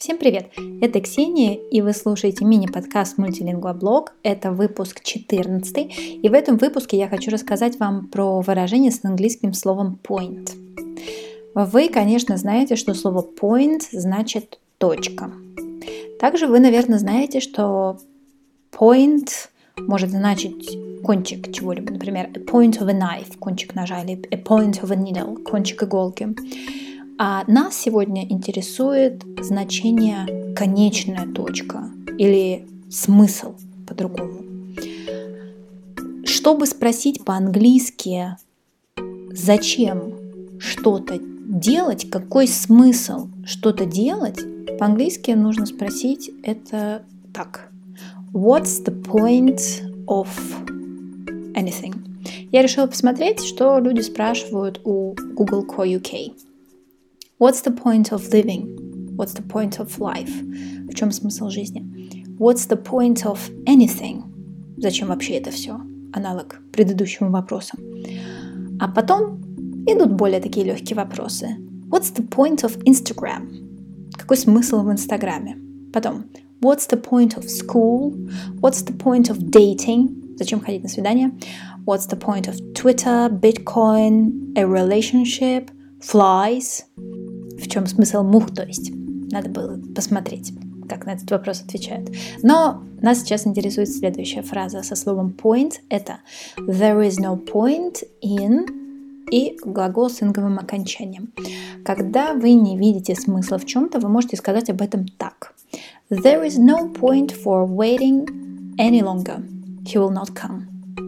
Всем привет! Это Ксения, и вы слушаете мини-подкаст «Мультилингва-блог». Это выпуск 14, и в этом выпуске я хочу рассказать вам про выражение с английским словом point. Вы, конечно, знаете, что слово point значит точка. Также вы, наверное, знаете, что point может значить кончик чего-либо, например, a point of a knife, кончик ножа, или a point of a needle, кончик иголки. А нас сегодня интересует значение «конечная точка» или «смысл» по-другому. Чтобы спросить по-английски, зачем что-то делать, какой смысл что-то делать, по-английски нужно спросить это так. What's the point of anything? Я решила посмотреть, что люди спрашивают у Google Co UK. What's the point of living? What's the point of life? В чем смысл жизни? What's the point of anything? Зачем вообще это все? Аналог предыдущему вопросу. А потом идут более такие легкие вопросы. What's the point of Instagram? Какой смысл в Инстаграме? Потом, what's the point of school? What's the point of dating? Зачем ходить на свидание? What's the point of Twitter, Bitcoin, a relationship, flies? В чем смысл мух, то есть? Надо было посмотреть, как на этот вопрос отвечают. Но нас сейчас интересует следующая фраза со словом point. Это there is no point in и глагол с инговым окончанием. Когда вы не видите смысла в чем-то, вы можете сказать об этом так. There is no point for waiting any longer. He will not come.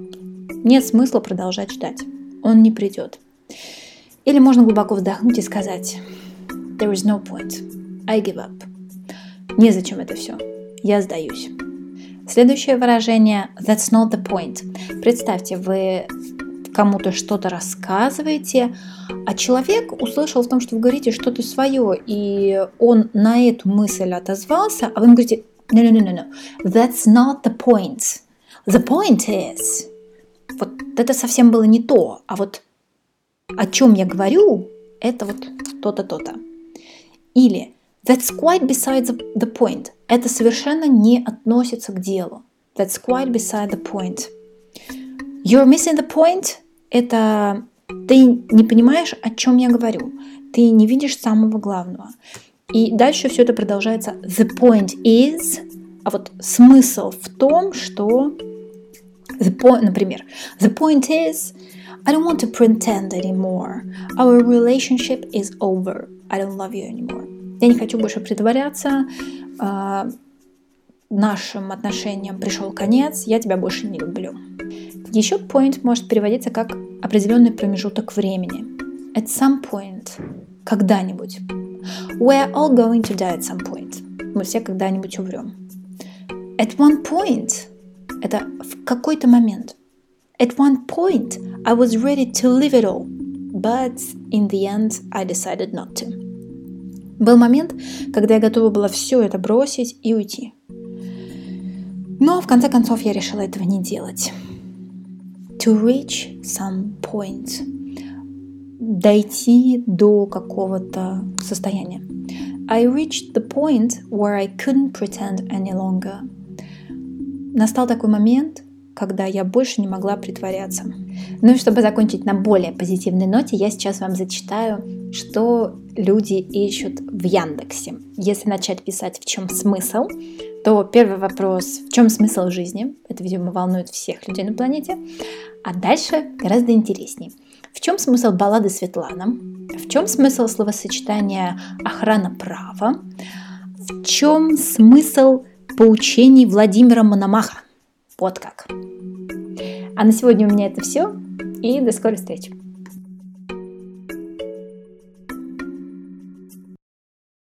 Нет смысла продолжать ждать. Он не придет. Или можно глубоко вздохнуть и сказать There is no point. I give up. Незачем это все. Я сдаюсь. Следующее выражение That's not the point. Представьте, вы кому-то что-то рассказываете, а человек услышал в том, что вы говорите что-то свое, и он на эту мысль отозвался, а вы ему говорите No. That's not the point. The point is. Вот это совсем было не то, а вот о чем я говорю, это вот то-то, то-то. Или That's quite beside the point. Это совершенно не относится к делу. That's quite beside the point. You're missing the point. Это ты не понимаешь, о чем я говорю. Ты не видишь самого главного. И дальше все это продолжается. The point is. А вот смысл в том, что например, the point is I don't want to pretend anymore. Our relationship is over. I don't love you anymore. Я не хочу больше притворяться. Нашим отношениям пришел конец. Я тебя больше не люблю. Еще point может переводиться как определенный промежуток времени. At some point. Когда-нибудь. We're all going to die at some point. Мы все когда-нибудь умрем. At one point. Это в какой-то момент. At one point, I was ready to leave it all, but in the end, I decided not to. Был момент, когда я готова была все это бросить и уйти. Но в конце концов я решила этого не делать. To reach some point. Дойти до какого-то состояния. I reached the point where I couldn't pretend any longer. Настал такой момент, когда я больше не могла притворяться. Ну и чтобы закончить на более позитивной ноте, я сейчас вам зачитаю, что люди ищут в Яндексе. Если начать писать «в чем смысл», то первый вопрос «в чем смысл жизни?» Это, видимо, волнует всех людей на планете. А дальше гораздо интереснее. В чем смысл баллады Светлана? В чем смысл словосочетания «охрана права»? В чем смысл поучений Владимира Мономаха? Вот как. А на сегодня у меня это все. И до скорой встречи.